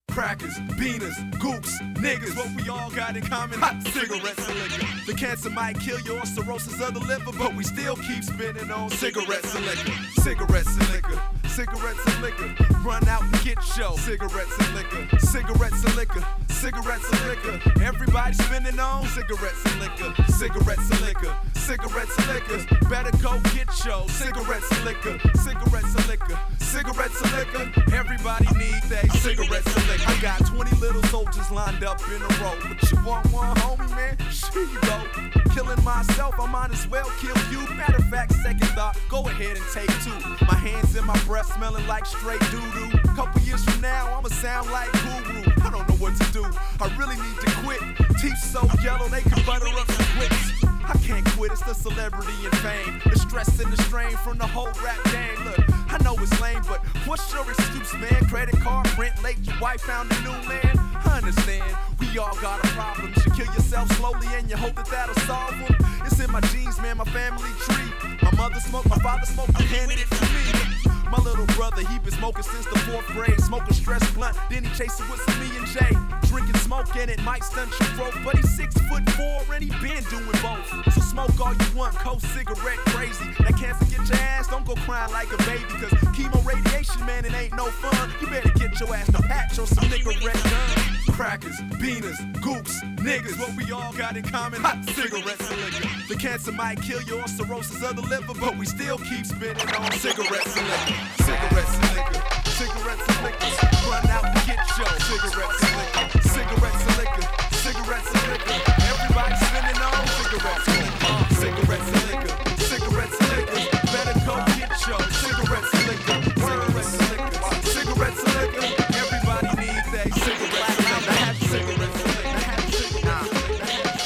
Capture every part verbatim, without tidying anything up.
crackers, beaners, goops, niggas. What we all got in common, hot cigarettes and liquor. The cancer might kill you or cirrhosis of the liver, but we still keep spinning on cigarettes and liquor. Cigarettes and liquor, cigarettes and liquor. Run out and get show. Cigarettes and liquor, cigarettes and liquor, cigarettes and liquor. Everybody spinning on cigarettes and liquor, cigarettes and liquor, cigarettes and liquor. Better go get show. Cigarettes and liquor, cigarettes and liquor, cigarettes and liquor. Everybody need they cigarettes and liquor. I got twenty little soldiers lined up in a row. But you want one, homie, man? Here you go. Killing myself, I might as well kill you. Matter of fact, second thought, go ahead and take two. My hands in my breath smelling like straight doo-doo. Couple years from now, I'ma sound like Guru. I don't know what to do, I really need to quit. Teeth so yellow, they can butter up some quicks. I can't quit, it's the celebrity and fame. The stress and the strain from the whole rap game. Look, I know it's lame, but what's your excuse, man? Credit card, rent late, your wife found a new man. I understand, we all got a problem. You kill yourself slowly and you hope that that'll solve them. It's in my genes, man, my family tree. My mother smoked, my father smoked, and handed it to me. My little brother, he been smoking since the fourth grade. Smoking stress blunt, then he chasing with some E and J. Drinking smoke and it might stunt your throat, but he's six foot four and he been doing both. So smoke all you want, coke, cigarette, crazy. That cancer get your ass, don't go crying like a baby. Cause chemo radiation, man, it ain't no fun. You better get your ass to patch on some nigga red gun. Crackers, beaners, goops, niggas. What we all got in common, hot cigarettes and liquor. The cancer might kill you or cirrhosis of the liver, but we still keep spinning on cigarettes and liquor. Cigarettes and liquor, cigarettes and liquor. Run out and get show. Cigarettes and liquor, cigarettes and liquor, cigarettes and liquor. Everybody spinning on cigarettes and liquor. Cigarettes and liquor, cigarettes and liquor. Better go get show. Cigarettes and liquor, cigarettes and liquor, cigarettes and liquor. Everybody needs that cigarettes and liquor. I have cigarettes and liquor. I have cigarettes and liquor.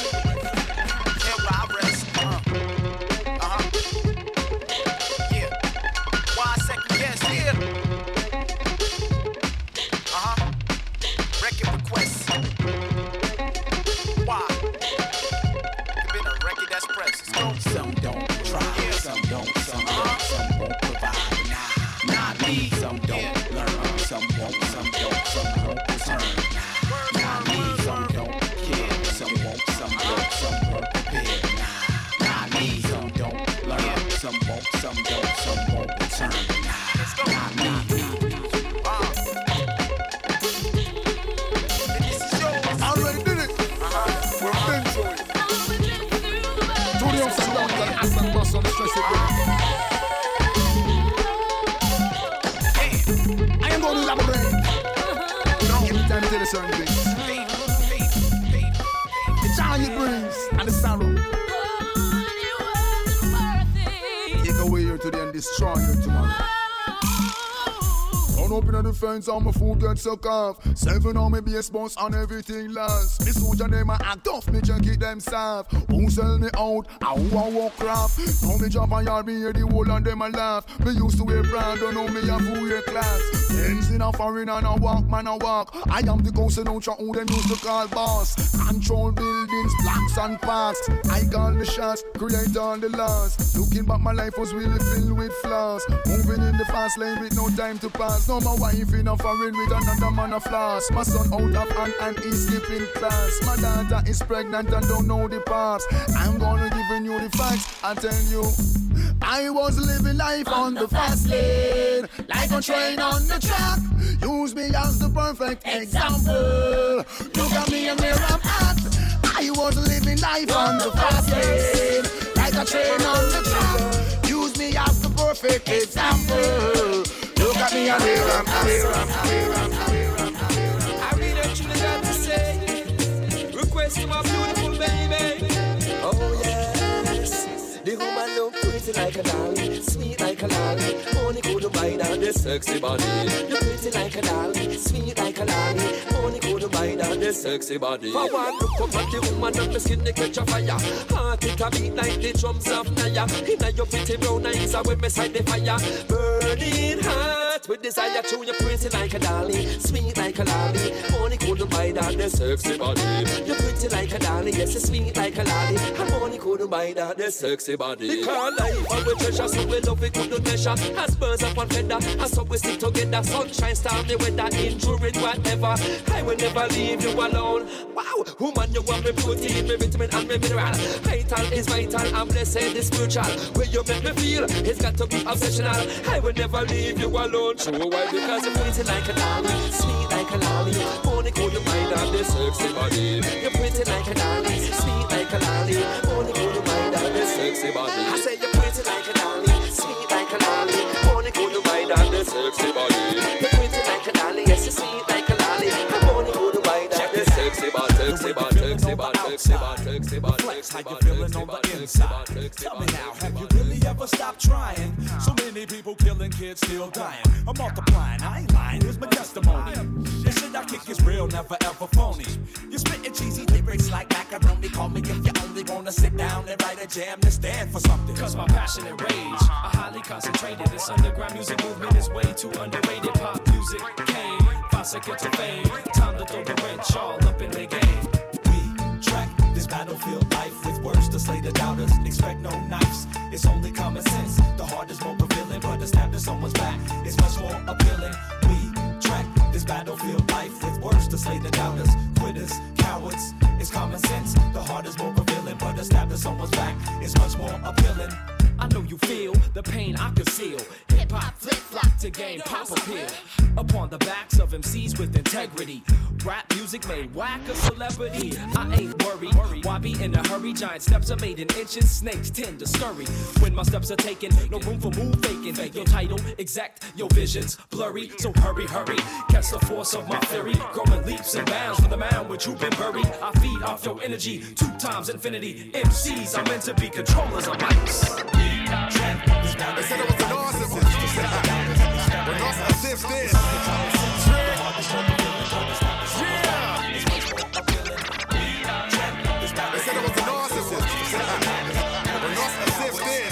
Yeah, where I rest. Uh-huh. Uh-huh. Yeah. Why second guess? Yeah. Uh-huh. Record requests. Why? Could been a record that's pressed. Let's go. Some don't try, yeah. Some don't, some don't, some won't provide. Nah, not me. Some don't yeah. learn, some won't, some don't, some won't return. Nah, not me. Some don't care, some won't, some don't, some won't prepare. Nah, not me. Some don't learn, yeah. some won't, some don't, some won't return. Nah, let's go. Not me. Uh. This is yours. I already did it. Uh-huh. We've been through it. Tony on sit down and ask them bust on the stress again. I am going to elaborate. Every time I tell you certain things. The joy it brings and the sorrow. Take away here today and destroy you tomorrow. Run up in the fence and my food gets suck off. Seven on me base boss and everything last. Me soldier them a act off, me check it them soft. Who sell me out, and who a walk craft. Now me drop and yard, me hear the whole and them a laugh. Me used to wear brand, don't know me a full year class. Ends in a foreign and a walk, man a walk. I am the ghost and ultra who them used to call boss. Control buildings, blocks and parks. I call the shots, create all the laws. Looking back my life was really filled with flaws. Moving in the fast lane with no time to pass. No my wife in a foreign with another man a floss. My son out of hand and he's skipping class. My daughter is pregnant and don't know the parts. I'm gonna giving you the facts. I tell you, I was living life on the fast lane, like a train on the track. Use me as the perfect example. Look at me and where I'm at. I was living life on the fast lane, like a train on the track. Use me as the perfect example. Look at me and where I'm at. I really actually got to say, request to my beautiful baby. Oh yes, the woman look pretty like a doll, sweet like a lolly. Only could buy down the sexy body. You pretty like a doll, sweet like a lolly. Only could buy down the sexy body. For one look up at the woman and the skin they catch a fire. Heart it a beat like the drums of Naya. Inna your pretty brown eyes are when beside the fire. Burning heart with desire to you pretty like a dolly, sweet like a lolly. Only could buy down the the sexy body. You're pretty like a dolly, yes, you're sweet like a lolly. And money couldn't buy that, the sexy body. Because life and we treasure, so we love it, couldn't measure. As birds up on feather, and so we stick together. Sunshine, stormy weather, injury, whatever. I will never leave you alone. Wow, woman, you want me protein, me vitamin and me mineral. Vital is vital, and blessed is spiritual. Where you make me feel, it's got to be obsessional. I will never leave you alone. True, why? Because you're pretty like a dolly, sweet like a lolly. Money couldn't buy that, the sexy body. You're pretty like a dolly, sweet like a lolly. Money couldn't buy that, the sexy body. I said you're pretty like a dolly, sweet like a lolly. Money couldn't buy that, the sexy body. You're pretty like a dolly, yes, you're sweet like a lolly. Money couldn't buy that, the sexy body, sexy body, sexy body, sexy body, sexy body. Reflects how you feeling on the inside. Tell me now, have you really ever stopped trying? So many people killing, kids still dying. I'm multiplying, I ain't lying, here's my testimony. This shit I kick is real, never ever phony. You're spitting cheesy lyrics like macaroni. Call me if you only wanna sit down and write a jam to stand for something. Cause my passionate rage, I highly concentrated. This underground music movement is way too underrated. Pop music came, five seconds to fame. Time to throw the wrench all up in the game. We track this battlefield life with words to slay the doubters. Expect no knives, it's only common sense. The heart is more revealing, but a stab to someone's back is much more appealing. We track this battlefield life with words to slay the doubters. Quitters, cowards, it's common sense. The heart is more revealing, but a stab to someone's back is much more appealing. I know you feel the pain I conceal. Hip hop flip flop to gain pop appeal. Upon the backs of M Cs with integrity. Rap music made whack a celebrity. I ain't worried. Why be in a hurry? Giant steps are made in inches. Snakes tend to scurry. When my steps are taken, no room for move faking. Your title exact, your visions blurry. So hurry, hurry. Catch the force of my theory. Growing leaps and bounds from the mound which you've been buried. I feed off your energy. Two times infinity. M Cs are meant to be controllers of mics. They said it was an awesome one. When awesome assists this. Yeah. They said it was an awesome one. When awesome assists this.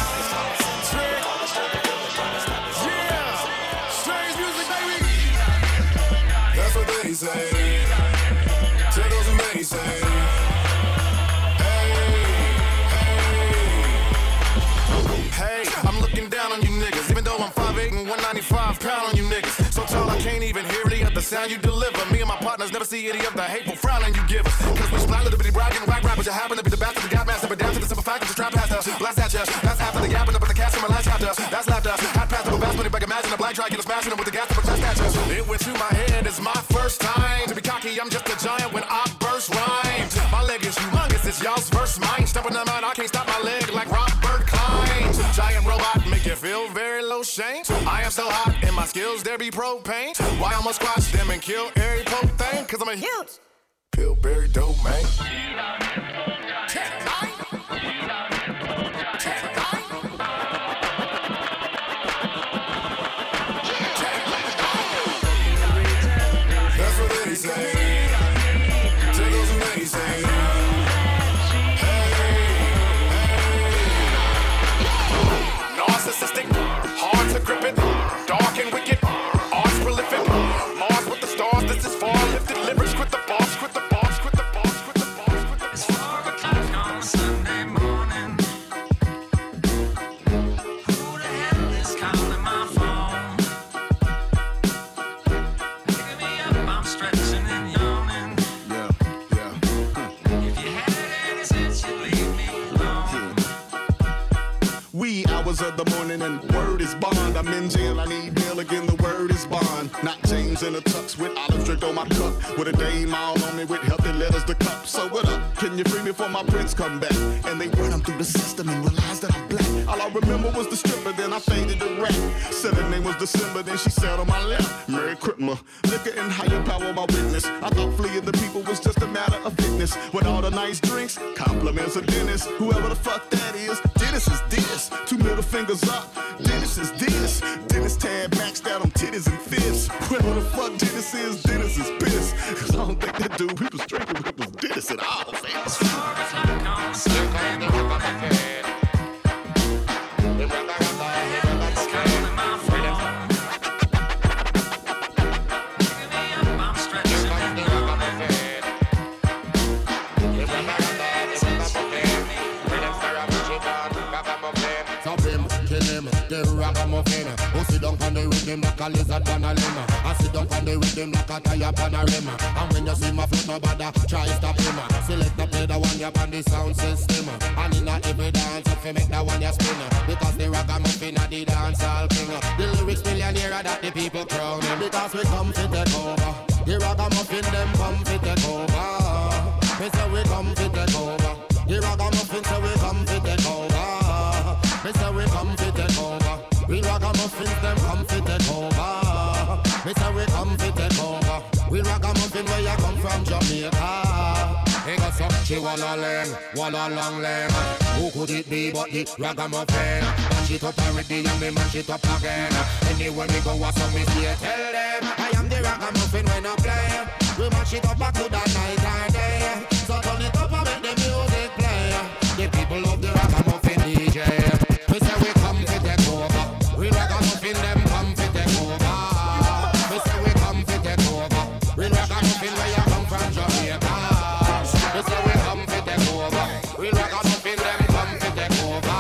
Yeah. Strange music, baby. That's what they say. Tickles and they say. Hey, I'm looking down on you niggas, even though I'm five eight and one ninety-five pound on you niggas. So tall I can't even hear any of the sound you deliver. Me and my partners never see any of the hateful frowning you give us. Cause we splat little bitty bragging, whack rappers, you happen to be the best of the gap master, but down to the simple fact that you trap past us. Blast at ya, that's half of the gap and up in the cast from my last chapter. That's laughter, I'd pass up a vast money back, imagine a black try, get us smashing them with the gas to protest at ya. It went through my head, it's my first time to be cocky, I'm just a giant when I burst rhymes. My leg is humongous, it's y'all's first mine. Stepping them out, I can't stop my leg like Robert Klein. Giant robot, make you feel very low shame. I am so hot, and my skills there be propane. Why I'ma squash them and kill every pope thing? Cause I'm a huge Pillsbury dope man. That's what they say. Tickles and they say. Narcissistic, hard to grip it, dark and wicked, arts prolific, Mars with the stars, this is far lifted, lyrics quit the boss, quit the boss, quit the boss, quit the boss, quit the boss. It's four o'clock on Sunday morning. Who the hell is calling my phone? Picking me up, I'm stretching and yawning. Yeah, yeah. If you had any sense, you'd leave me alone. Wee hours of the morning and word is bond. I'm in jail, I need bail again, the word is bond. Not James in a tux with olive drink on my cup. With a dame all on me with healthy letters to cup. So what up? Can you free me before my prince come back? And they run them through the system and realize that I'm black. All I remember was the stripper, then I faded the rap. Said her name was December, then she sat on my lap. Merry Christmas, liquor and higher power, my witness. I thought fleeing the people was just a matter of fitness. With all the nice drinks, compliments of Dennis. Whoever the fuck that is, Dennis is this. Two middle fingers up, Dennis is this. Dennis tab maxed out on titties and fists. Whoever the fuck Dennis is, Dennis is pissed. Cause I don't think that dude, he was drinking with was Dennis at all, fam. It's four o'clock on Sunday morning. It's calling my phone. Picking me up, I'm stretching and yawning. rhythm like a lizard on a limb. I sit down on the rhythm like a tire on a rim. And when you see my foot, no bother, try stop him. Select the play the one you on the sound system. And in a every dance, if you make that one you spin. Because the ragamuffin are the dance all king. The lyrics millionaire that the people crown. Because we come to take over. The ragamuffin them come to take over. We say we come to take over. The ragamuffin say we come to take over. We say we come to take over. We ragamuffins them come to take over. We say we come to take over. We ragamuffin where you come from, Jamaica. He got some she wanna learn, wanna long learn. Who could it be but the ragamuffin? Mash it up already and me mash it up again. Anywhere we go, what's up me say? Tell them I am the ragamuffin when I play. We mash it up a good night and day. So turn it up and make the music play. The people love the ragamuffin D J. We say we come to take over. We ragamuffin them come to take over. We say we come to take over. We ragamuffin where you come from, Jamaica. We say we come to take over. We ragamuffin them come to take over.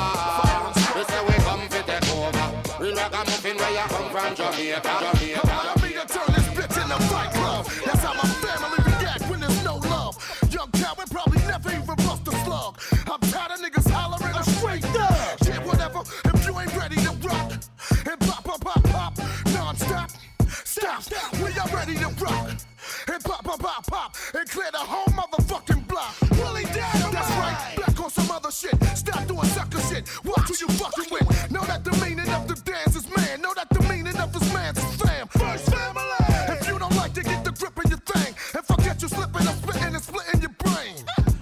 We say we come to take over. We ragamuffin where you come from, Jamaica. Jamaica. Allow me to turn this bitch into Fight Club. That's how my family react when there's no love. Young Calvin probably never even bust a slug. I'm tired of niggas hollering, I'm straight up. Yeah, whatever, if you ain't ready to rock. And pop, pop, pop, pop, non-stop. Stop, we are ready to rock. And pop, pop, pop, pop, and clear the whole motherfucking block. Willie down, that's right, back on some other shit. Stop doing sucker shit, watch who you fucking with. Know that the meaning of the dance is man. Know that the meaning of this man's is fam. First family. If you don't like to get the grip of your thing, and forget you slipping and spitting and splitting your brain.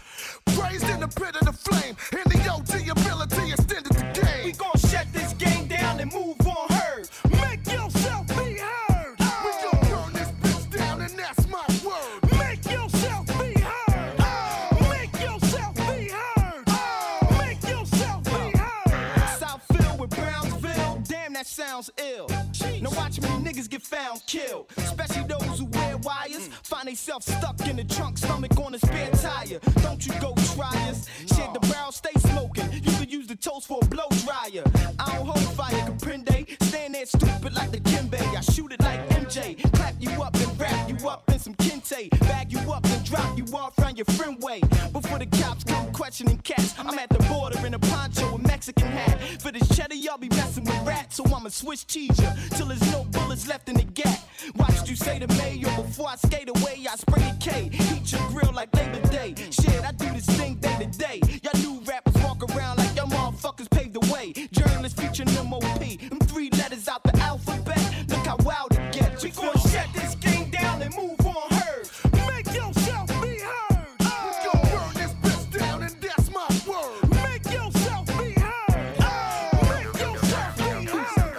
Raised in the pit of the flame, in the O G ability extended the game. We gon' shut this game down and move on heard. Make yourself be heard. Oh. We gon' burn this bitch down and that's my word. Make yourself be heard. Oh. Make yourself be heard. Oh. Make yourself be heard. Southfield with Brownsville, damn that sounds ill. Now watch me niggas get found killed, especially those who wear wires. Find themselves stuck in the trunk, stomach on a spare tire. Don't you go try us. Shit, the barrel stay smoking. You could use the toast for a blow dryer. I don't hold fire, Caprende. Stand there stupid like the Kimbe. I shoot it like M J. Clap you up and wrap you up in some kente. Bag you up and drop you off round your friend way. Before the cops come questioning cats, I'm at the border in a poncho and Mexican hat. For this cheddar, y'all be messing with rats. So I'ma switch cheese ya till there's no bullets left in the gap. Watched you say to Mayo before I skate away. I spray a K, heat your grill like Labor Day. Shit, I do this thing day to day. Y'all new rappers walk around like y'all motherfuckers paved the way. Journalists featuring M O P, them three letters out the alphabet. Look how wild it gets. We gon' shut this game down and move on heard. Make yourself be heard. Oh. We gon' burn this bitch down and that's my word. Make yourself be heard. Oh. Make yourself be heard.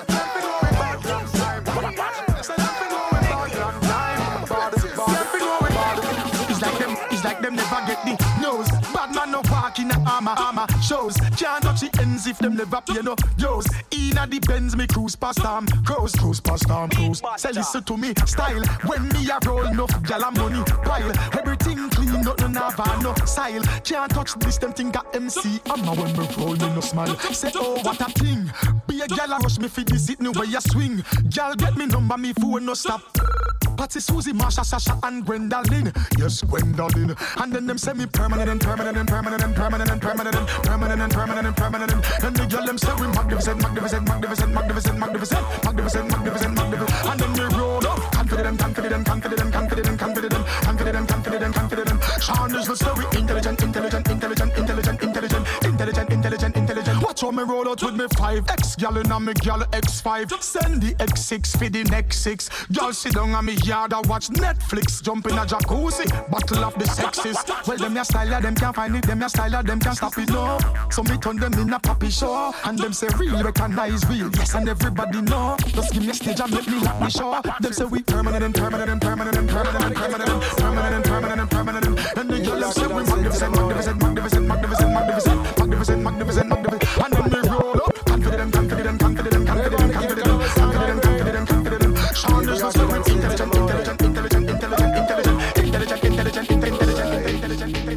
It's like them, it's like them never get the nose. Bad man no walk in a armor, armor shows. Can't touch the ends if them never pay no dues. Inna the Benz me cruise past them, cruise, cruise past them, cruise. Say listen to me style. When me a roll enough gyal and money pile. Everything clean, nothing have no style. Can't touch this them thing got M C. I'm not when me roll me no smile. Say oh what a thing. Be a gyal a rush me for this it no way a swing. Gyal get me number me phone no stop. Patty, Susie, Marsha, Sasha, and Gwendolyn. Yes, Gwendolyn. And then them say me permanent and permanent and permanent and permanent and permanent and permanent and permanent and permanent. And the girl them say we magnificent, magnificent, magnificent, magnificent, magnificent, magnificent, magnificent, magnificent. And then we roll up, confident, confident, confident, confident, confident, confident, confident, confident. Sean is the story, intelligent, intelligent, intelligent, intelligent, intelligent, intelligent, intelligent, intelligent. Watch how me roll out with me five X gal and me gal X five. Send the X six for the next six. Y'all sit down and me yard and watch Netflix. Jump in a jacuzzi, battle of the sexes. Well, them ya style, them can't find it. Them ya style, them can't stop it, no. So me turn them in a poppy show. And them say real, recognize real. Yes, and everybody know. Just give me a stage and let me lock me show. Them say we permanent and permanent and permanent and permanent and permanent and permanent and permanent and permanent. And the girls say we magnificent, magnificent, magnificent, magnificent, magnificent, magnificent, magnificent, magnificent. And then we roll up, confident, confident, confident, confident, confident, confident, confident, confident. Sean is the story, intelligent, intelligent, intelligent, intelligent, intelligent, intelligent, intelligent, intelligent, intelligent, intelligent.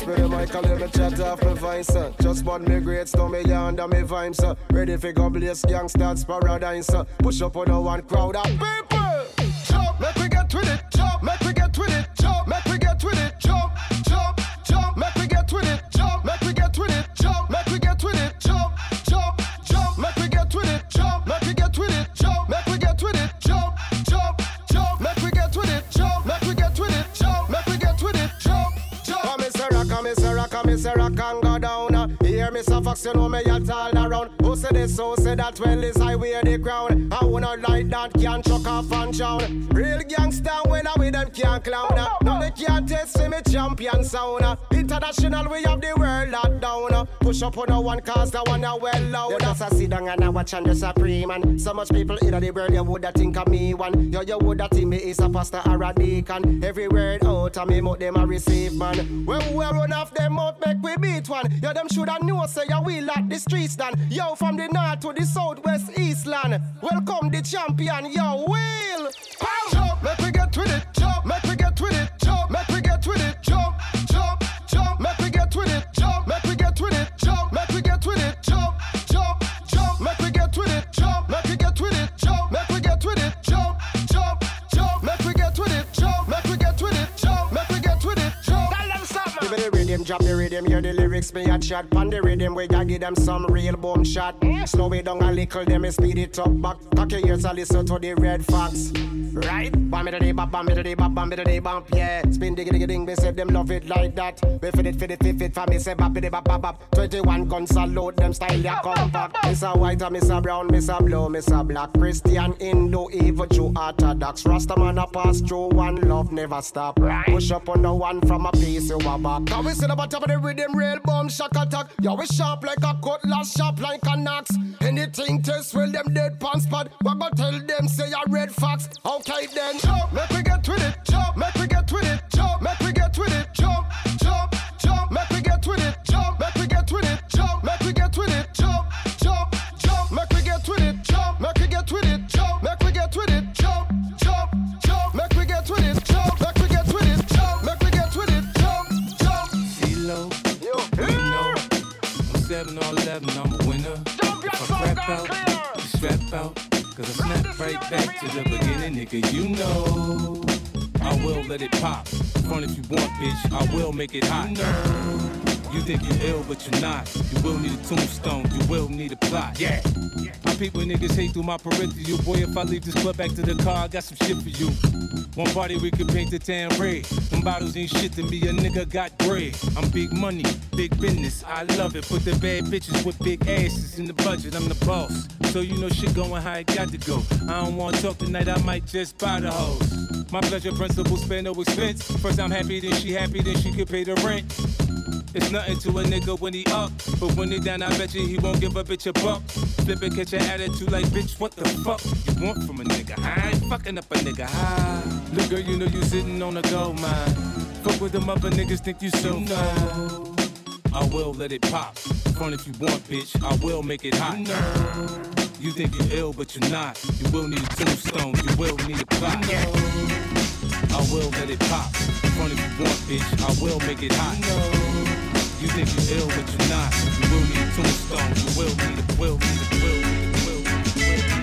Pass me the mic and let me chat off my vines, sir. Just bought me grades, now me under me vibes, sir. Ready for go blaze gangsters paradise, sir. Push up on the one crowd of people. Jump, make we get with it. Jump, make we get with it. Jump, make we get with it. Jump, jump, jump, make we get with it. Jump, make we get with it. Jump, make we get with it. Jump, jump, jump, make we get with it. Jump, make we get with it. Jump, make we get with it. Jump, jump, jump, make we get with it. Jump, make we get with it. Jump, make we get with it. Jump, jump. Come Mister Rock, come Mister Rock, come Mister Rock and go down. Hear Mister Fox, you know me at all around. Who say this, who say that? Well, this I wear the crown. I wanna like that, can't chuck off and down. Real gangster, when I with them can't clown. Now they can't test me champion sound. International, we have the world locked down. Push up on the one cause the one are well loud. You just a sit down and I watch and the supreme man. So much people in the world, you woulda think of me one. Yo, you woulda think me is a pastor or a deacon. Every word out of me, mouth them a receive man. When we run off them mouth, make we beat one. Yo, them shoulda know say you will at the streets done. Yo, from the north to the south, west, east land. Welcome the champion, yo, Will. Jump, make we get with it. Jump, make we get with it. Jump, make we get with it. Jump, jump, jump, make we get with it. Jump, make we get with it. Jump, make we get with it. Jump, jump, jump, make we get with it. Jump, make we get with it. Jump, make we get with it. Jump, jump, jump, make we get with it. Jump, make we get with it. Jump, make we get with it. Jump. Tell them something. Give me the rhythm, drop the rhythm, hear the lyrics, me a chat. Pon the rhythm, we gotta give them some real boom shot. Slow it down a little, then me speed it up back. Cock your ears and listen to the red fox. Right? Bam it a bop, bam it a bop, bam it a bump, yeah. Spin diggy diggy ding, they say them love it like that. We fit it, fit it, fit it, for me say bop it bop bop bop. Twenty-one guns salute them style ya compact. Mister White and Mister Brown, Mister Blue, Mister Black, Christian, Hindu, evil, Jew, Orthodox. Rastaman a pass through, one love never stop. Push up on the one from a piece you a back. Can we see the bottom of the rhythm, real bomb shock attack. Yo, we sharp like a cutlass, sharp like an axe. Anything test, well them dead pan spot. What go tell them say a red fox? Okay then, jump, make we get with it. Jump, make we get with it. Jump, make we get with it. Jump, jump, jump, make we get with it. Jump, make we get with it. Jump, make we get with it. Jump, jump, jump, make we get with it. Jump, make we get with it. Jump, make we get with it. Jump, jump, jump, make we get with it. Jump, make we get with it. Jump, make we get with it. Jump, jump. C-Lo, you know, I'm seven or eleven, I'm a winner. If I rap out, you strap out. Cause I snap right back to the beginning, nigga, you know I will let it pop. Front if you want, bitch, I will make it hot. You think you're ill, but you're not. You will need a tombstone, you will need a plot. Yeah. I peep when niggas hate through my peripheral. Boy, if I leave this club back to the car, I got some shit for you. One party we could paint the town red. Them bottles ain't shit to me, a nigga got bread. I'm big money, big business, I love it. Put the bad bitches with big asses in the budget, I'm the boss. So you know shit going how it got to go. I don't wanna talk tonight, I might just buy the hoes. My pleasure principle, spend no expense. First I'm happy, then she happy, then she can pay the rent. It's nothing to a nigga when he up, but when he down, I bet you he won't give a bitch a buck. Flip and catch your attitude like, bitch, what the fuck you want from a nigga? I ain't fucking up a nigga. Ah, look, girl, you know you sitting on a gold mine. Fuck with them other niggas, think you so fine. I will let it pop. Front if you want, bitch, I will make it hot. You think you're ill, but you're not. You will need a tombstone, you will need a plot. I will let it pop. Front if you want, bitch, I will make it hot. You think you're ill, but you're not. You will need a tombstone. You will need a, will need a, will need a, will need a, will need a.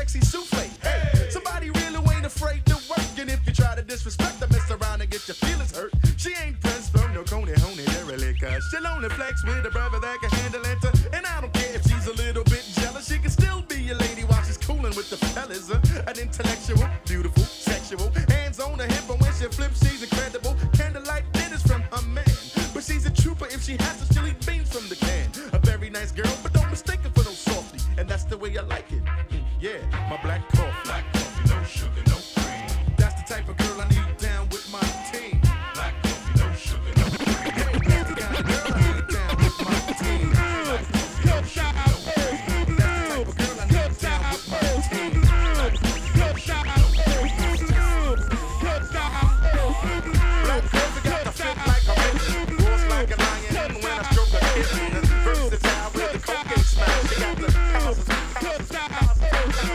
sexy souffle. Hey, somebody really ain't afraid to work. And if you try to disrespect her, mess around and get your feelings hurt. She ain't pressed from no coney honey, really, cause she'll only flex with a brother that can handle it. And I don't care if she's a little bit jealous, she can still be a lady while she's cooling with the fellas. Uh, an intellectual, beautiful, sexual, hands on her hip, and when she flips, she's incredible. Candlelight dinners from her man, but she's a trooper if she has to. She'll eat beans from the can. A very nice girl, but don't mistake her for no softy, and that's the way I like it. Yeah, my black coffee, black coffee, no sugar, no cream. That's the type of girl I need down with my team. Black coffee, no sugar, no cream. Hey, that's the kind of girl I need down with my team. Black coffee, no sugar, no cream. That's the type of girl I need down with my team. Black coffee, no sugar, no cream. Black coffee got the fit like a bitch, roars like a lion when I stroke her kitten. Versatile with the cocaine smile, she got the houses, houses, houses.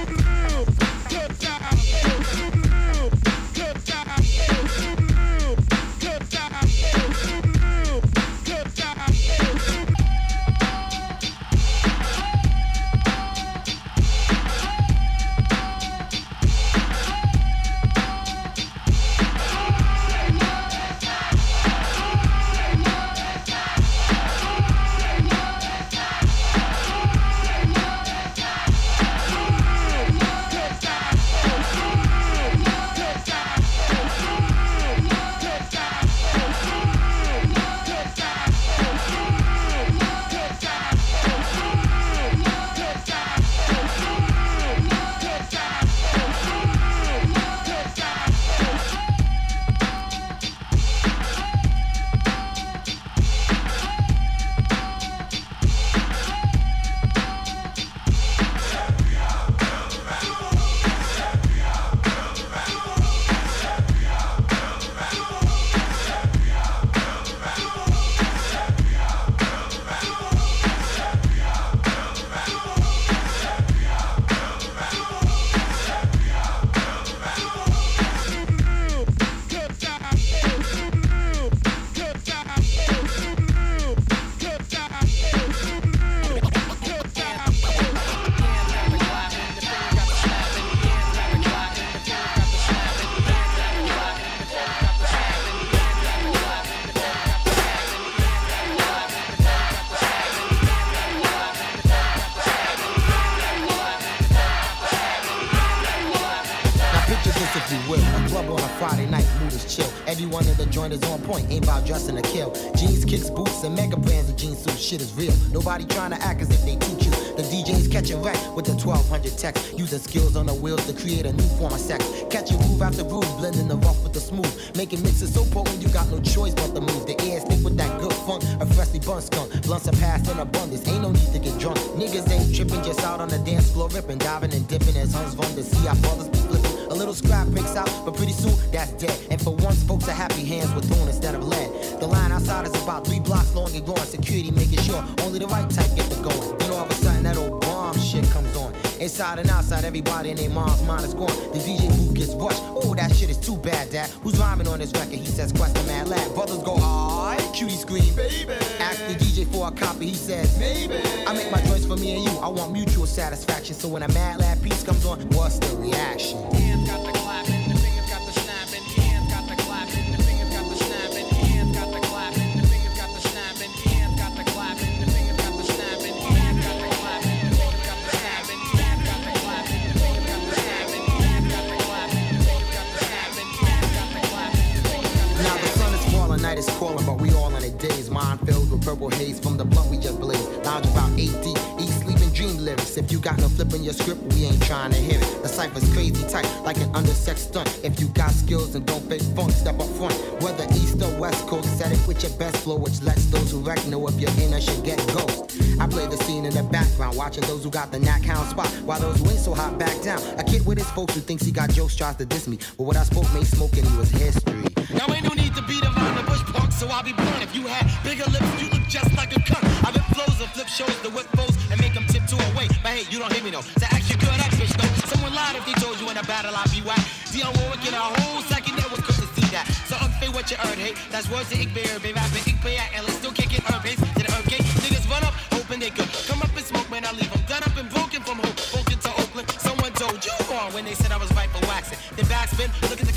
Everyone in the joint is on point, ain't about dressing to kill. Jeans, kicks, boots, and mega brands of jeans suits. Shit is real. Nobody trying to act as if they too cute. The D J's catching wreck with the twelve hundred text, using skills on the wheels to create a new form of sex. Catching groove after groove, blending the rough with the smooth, making mixes so potent you got no choice but to move. The air stick with that good funk, a freshly bun skunk. Blunts are passed in abundance, ain't no need to get drunk. Niggas ain't tripping, just out on the dance floor, ripping, diving and dipping as Hans Von to see our brothers be flipping. A little scrap breaks out, but pretty soon that's dead. And for once, folks are happy hands with thorn instead of lead. The line outside is about three blocks long and going. Security making sure only the right type get the going. Then all of a sudden that old bomb shit comes on. Inside and outside, everybody in their mom's mind is gone. The D J booth gets rushed. Oh, that shit is too bad, Dad. Who's rhyming on this record? He says, Quest Mad Lad. Brothers go, alright. Cutie scream, baby. Ask the D J for a copy. He says, maybe. I make my choice for me and you. I want mutual satisfaction. So when a Mad Lad piece comes on, what's the reaction? Hands got the clapping, the fingers got the snapping. Hands got the clapping, the fingers got the snapping. Hands got the clapping, the fingers got the snapping. Hands got the clapping, the fingers got the snapping. Hands got the clapping, the fingers got the snapping. Hands got the clapping, the fingers got the snapping. Hands got the clapping, the fingers got the snapping. Hands got the clapping, the fingers got the snapping. Now the sun is falling, night is calling, but we all in a daze. Mind filled with purple haze from the blunt we just blazed. Lounge about eight deep, eat, sleep, and dream lyrics. If you got no flip in your script, we ain't trying to hear it. The cypher's crazy tight, like an undersexed stunt. If you got skills and don't fake funk, step up front. Whether east or west coast, set it with your best flow, which lets those who wreck know if you're in or should get ghost. I play the scene in the background, watching those who got the knack hound spot, while those who ain't so hot back down. A kid with his folks who thinks he got jokes tries to diss me, but what I spoke made smoking he was history. Now ain't no need to beat around the bush park, so I'll be blunt. If you had bigger lips, you look just like a cunt. I rip flows and flip shows to whip foes and make them tiptoe away. But hey, you don't hear me though. To act you good, act bitch though. Someone lied if they told you in a battle I'll be whack. Dionne Warwick in a whole second that was quick to see that. So unfair what you earned, hey. That's words to ik be urban. Rapping ik be at and let's still kick it urban. To the earth gate, niggas run up, hoping they could come up and smoke, man. I leave them done up and broken from hope. Broken to Oakland, someone told you.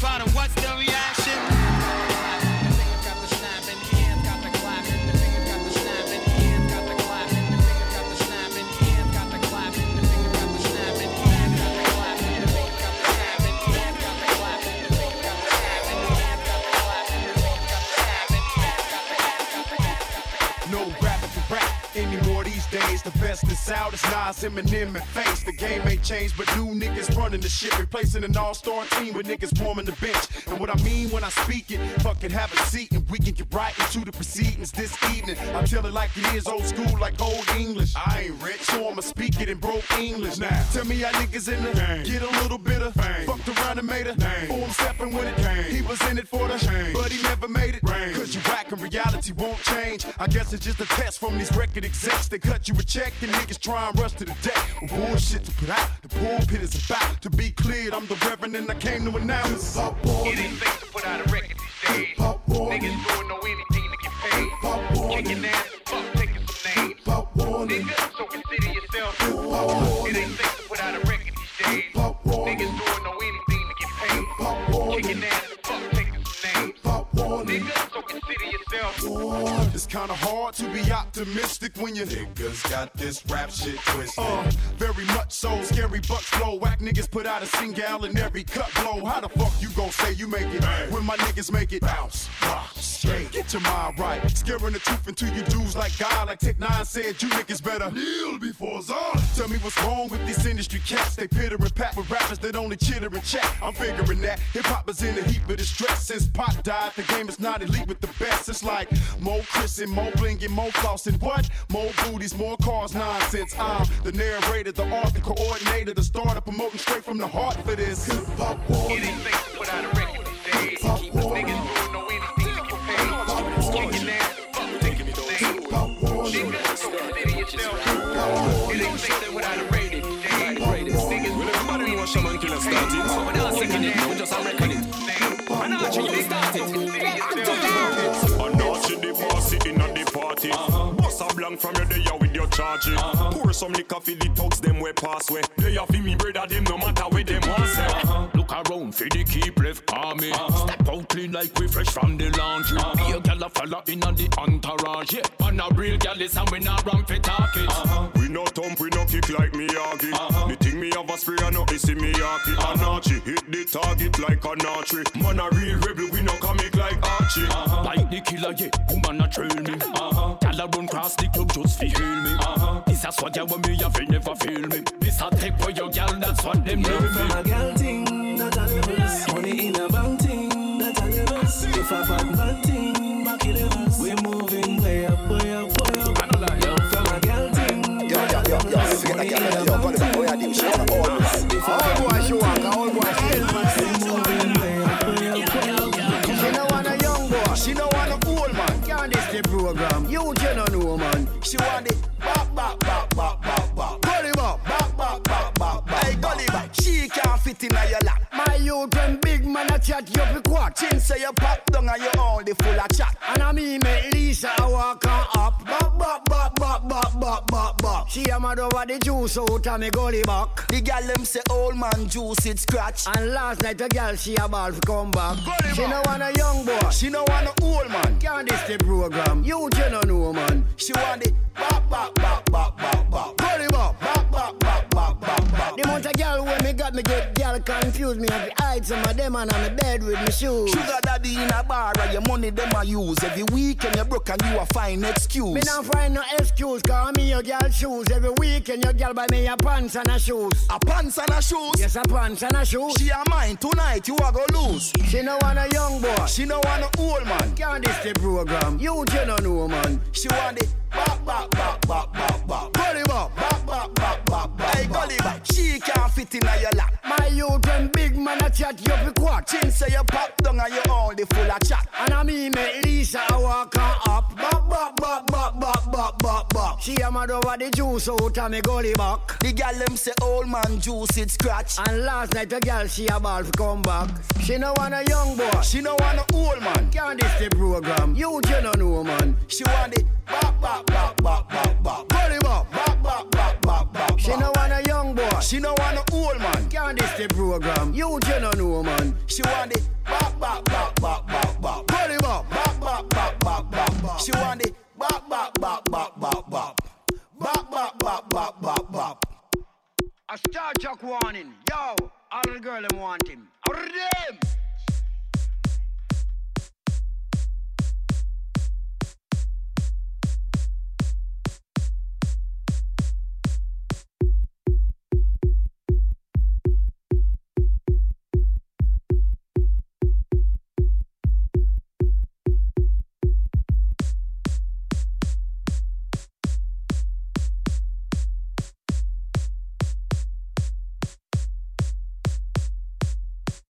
Father, what's the reaction? No rapping for rap anymore these days. The best is out, it's Nas, Eminem, and Face. The game ain't changed, but new niggas running the shit, replacing an all-star team with niggas warming the bench. And what I mean when I speak it, fucking have a seat and we can get right into the proceedings this evening. I tell it like it is, old school, like old English. I ain't rich, so I'ma speak it in broke English. Now, tell me how niggas in the game. Get a little bit of fame. Fucked around and made a name. For him stepping when it came. He was in it for the shame, but he never made it. Rain. Cause you whack and reality won't change. I guess it's just a test from these record execs. They cut you a check and niggas try and rush to the deck. With bullshit to put out, the pulpit is about to be cleared. I'm the reverend and I came to announce. It ain't safe to put out a record these days. Niggas don't know anything to get paid. Kicking ass and fuck, taking some names. Nigga, so consider yourself. It ain't safe to put out a record these days. Niggas don't know anything to get paid. Kicking ass and fuck, taking some names. Nigga, so consider yourself. It's kinda hard to be optimistic when you niggas got this rap shit twisted. Uh, very much so, scary bucks flow. Whack niggas put out a single in every cut blow. How the fuck you gon' say you make it hey. when my niggas make it bounce, rock, straight? Get your mind right. Scaring the truth into you dudes like God. Like Tech Nine said, you niggas better kneel before Zon. Tell me what's wrong with these industry cats. They pitter and pat with rappers that only chitter and chat. I'm figuring that hip hop is in a heap of distress. Since Pop died, the game is not elite with the best. It's like more Chris and more bling and more floss and what? More booties, more cars, nonsense. I'm the narrator, the art, the coordinator, the starter, promoting straight from the heart for this. It ain't safe to put out a record these days. Niggas don't know anything to get paid. Kicking ass, fuck, taking the name. Niggas, so consider yourself. It ain't safe to put out a record these days. Niggas don't know anything to get paid. So without second it, we just a record it. And Archie, you started. And Archie, the boss in the party. Bust a blank from your day with your charging. Pour some liquor for the thugs, them way pass way. They have me brother, them no matter where them want say. Look around for the keep left army. Step out clean like we fresh from the laundry. Be a gal a fella in on the entourage. Yeah, and a real gal is and we not run for talking. We no thump, we no kick like Miyagi. The thing me have a spray and no issy Miyagi. And Archie hit the target like an archery. Man a real rebel, we no comic like Archie. Like the killer, yeah, woman a trail me. Gal a run cross the club just fi heal me. This a swagger when me have never feel me. This a take for your gal, that's what them know me. From a gal thing, that a levels. Money in a bank thing, that a levels. If a bad bad thing, back levels. We moving way up, way up, way up. Yo, from a gal thing, that a levels. Money in a bank thing, that a levels. If a bad she walk, all boy she we moving way up, way up, way up. She no want a young boy, she no want a old man. Can't this the program? You you no know man. She want it back, back, back, back, back, back. Gully back, back, back, back, back, back. Hey, gully back. She can't fit in your lap. My youth when big man a chat, you be quack. Chin say you pop down and you only full of chat. And I mean make Lisa a walk on up. Back, back, back, back, back, back, back, back. She a mad over the juice out of me gully back. The gal them say old man juice it scratch. And last night a gal she a ball for come back. Gully she back. No want a young boy, she no want a old man. Can't this the program? You you no know man. She want it back, back, back, back, back, back. Gully back, back, back, back, back, back, back. The amount of gal when me got me get gal confused me. Have to hide some of them and on the bed with me shoes. Sugar daddy in a bar and your money them a use. Every weekend you broke and you a find excuse. Me not find no excuse cause me your gal shoes. Every weekend your gal buy me a pants and a shoes. A pants and a shoes? Yes, a pants and a shoes. She a mine tonight you a go lose. She no want a young boy, she no want a old man. Can't this the program? You you no know man. She want it back, back, back, back, back, back. Gully back, back, back, back, back, back. Hey, gully back. She can't fit in your lap. My youth when big man a chat, you be quack. Chin say you pop down and you only full of chat. And I mean make Lisa a walk on up. Back, back, back, back, back, back, back, back. She a mad over the juice out of me gully back. The gal them say old man juice it scratch. And last night a gal she a ball for come back. She no want a young boy, she no want a old man. Can't this the program? You you no know man. She want it back, back, back, back, back, back. Gully back, back, back, back, back, back. She no want a young boy, she no want a old man. Can't this the program? You you no know man. She want it bop, bop, bop, bop, bop. Pull him up. Bop, bop, bop, bop, bop, bop. She want the bop, bop, bop, bop, bop, bop. Bop, bop, bop, bop, bop, bop. A Star Chuck warning. Yo, all the girl them want him. All of them.